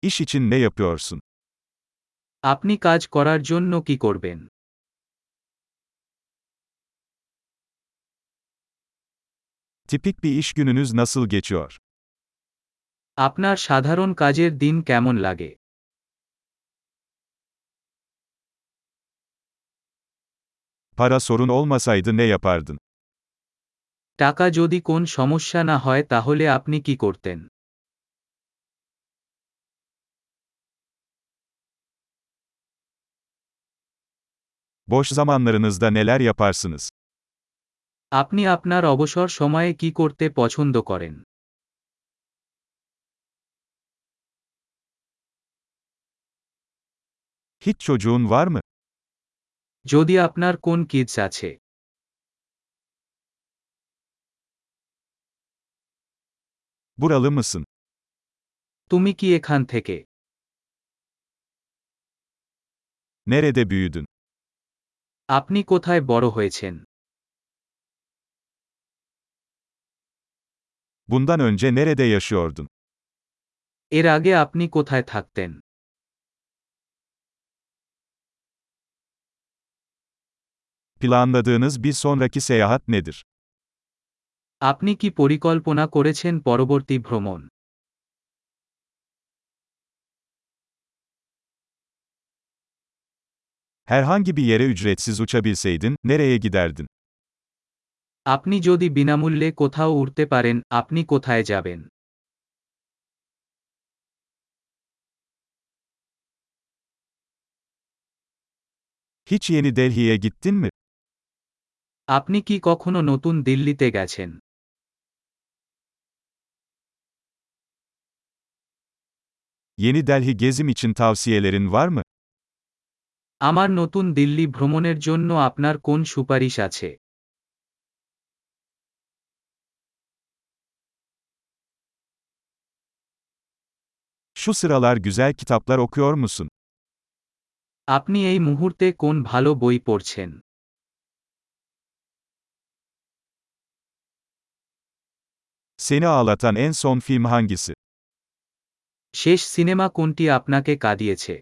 İş için ne yapıyorsun? আপনি কাজ করার জন্য কি করবেন? Tipik bir iş gününüz nasıl geçiyor? আপনার সাধারণ কাজের দিন কেমন লাগে? Para sorun olmasaydı ne yapardın? টাকা যদি কোন সমস্যা না হয় তাহলে আপনি কি করতেন? Boş zamanlarınızda neler yaparsınız? আপনি আপনার অবসর সময়ে কি করতে পছন্দ করেন? Hiç çocuğun var mı? যদি আপনার কোন কিডস আছে? Buralı mısın? তুমি কি এখান থেকে? Nerede büyüdün? আপনি কোথায় বড় হয়েছেন? Bundan önce nerede yaşıyordun? এর আগে আপনি কোথায় থাকতেন? Planladığınız bir sonraki seyahat nedir? আপনি কি পরিকল্পনা করেছেন পরবর্তী ভ্রমণ? Herhangi bir yere ücretsiz uçabilseydin, nereye giderdin? আপনি যদি বিনামূল্যে কোথাও উড়তে পারেন, আপনি কোথায় যাবেন? Hiç Yeni Delhi'ye gittin mi? আপনি কি কখনো নতুন দিল্লিতে গেছেন? Yeni Delhi gezim için tavsiyelerin var mı? আমার নতুন দিল্লি ভ্রমণের জন্য আপনার কোন সুপারিশ আছে? Şu sıralar güzel kitaplar okuyor musun? আপনি এই মুহূর্তে কোন ভালো বই পড়ছেন? Seni ağlatan en son film hangisi? শেষ সিনেমা কোনটি আপনাকে কাঁদিয়েছে?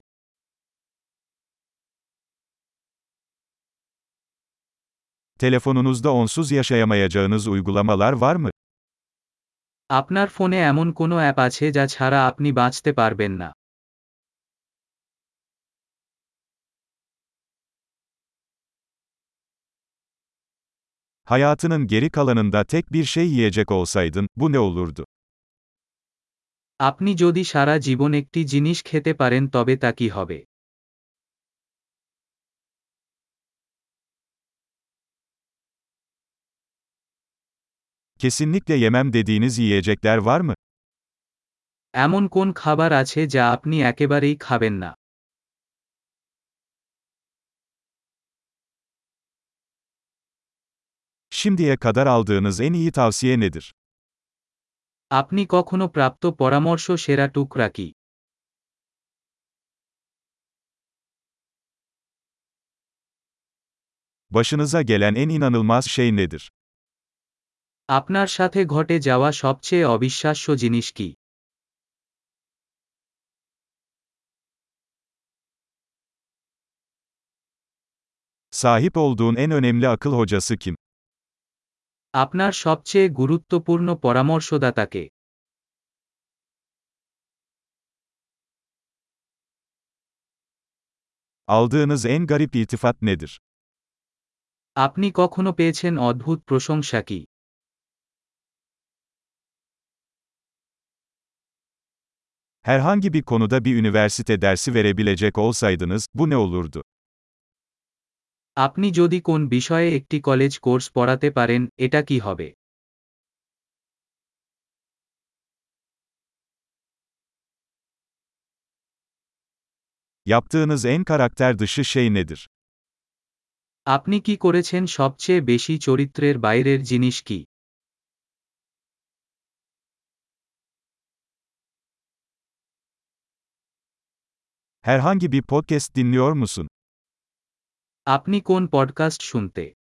Telefonunuzda onsuz yaşayamayacağınız uygulamalar var mı? আপনার ফোনে এমন কোনো অ্যাপ আছে যা ছাড়া আপনি বাঁচতে পারবেন না? Hayatının geri kalanında tek bir şey yiyecek olsaydın, bu ne olurdu? আপনি যদি সারা জীবন একটি জিনিস খেতে পারেন তবে তা কি হবে? Kesinlikle yemem dediğiniz yiyecekler var mı? এমন কোন খাবার আছে যা আপনি একেবারেই খাবেন না? Şimdiye kadar aldığınız en iyi tavsiye nedir? আপনি কখনো প্রাপ্ত পরামর্শ সেরা টুকরা কি? Başınıza gelen en inanılmaz şey nedir? আপনার সাথে ঘটে যাওয়া সবচেয়ে অবিশ্বাস্য জিনিস কি? Sahip olduğun en önemli akıl hocası kim? আপনার সবচেয়ে গুরুত্বপূর্ণ পরামর্শদাতা কে? Aldığınız en garip iltifat nedir? আপনি কখনো পেয়েছেন অদ্ভুত প্রশংসা কি? Herhangi bir konuda bir üniversite dersi verebilecek olsaydınız, bu ne olurdu? আপনি যদি কোন বিষয়ে একটি কলেজ কোর্স পড়াতে পারেন, এটা কি হবে? Yaptığınız en karakter dışı şey nedir? আপনি কি করেছেন সবচেয়ে বেশি চরিত্রের বাইরের জিনিস কি? Herhangi bir podcast dinliyor musun? আপনি কোন পডকাস্ট শুনতে?